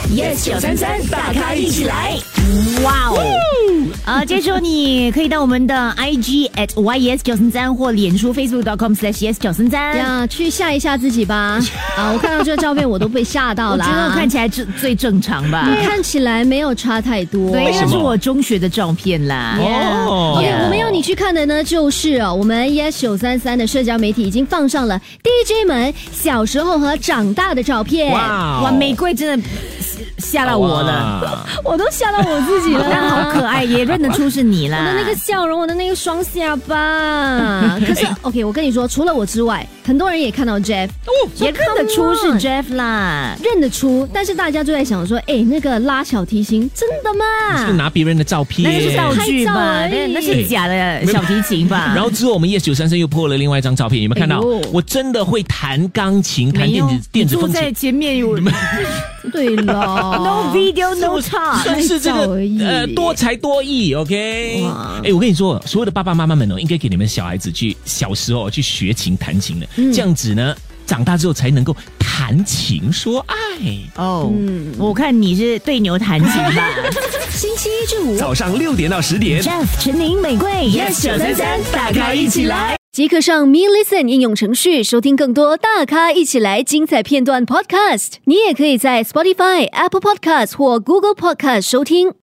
Yes 933大咖一起来！ 哇哦！接着你可以到我们的 IG @YES933或脸书 Facebook.com/YES933 呀，去吓一吓自己吧！我看到这个照片我都被吓到了。 我觉得我看起来最正常吧？ 看起来没有差太多。 对，那是我中学的照片啦。 OK， 我们要你去看的呢，就是我们 YES933的社交媒体已经放上了 DJ 们小时候和长大的照片。 哇，玫瑰真的吓到我了， 我都吓到我自己了。 但好可爱，也认得出是你啦。 我的那个笑容，我的那个双下巴。可是 OK， 我跟你说，除了我之外，很多人也看到 Jeff， 也认得出是 Jeff 啦， 认得出。但是大家就在想说，那个拉小提琴真的吗？ 是拿别人的照片， 那是道具吧？那是假的小提琴吧？ 然后之后我们YES933又破了另外一张照片，有没有看到？我真的会弹钢琴，弹电子风琴。 坐在前面有。 对了 ，No video no talk， 算是这个多才多艺 ，OK。我跟你说，所有的爸爸妈妈们应该给你们小孩子去小时候去学琴弹琴的，这样子呢，长大之后才能够谈情说爱。 我看你是对牛弹琴吧。 星期一至五早上6点到10点 ，Jeff、陈宁、玫瑰 ，Yes 933大咖一起来。 即刻上 Me Listen 应用程序收听更多大咖一起来精彩片段 Podcast。你也可以在 Spotify、Apple Podcast 或 Google Podcast 收听。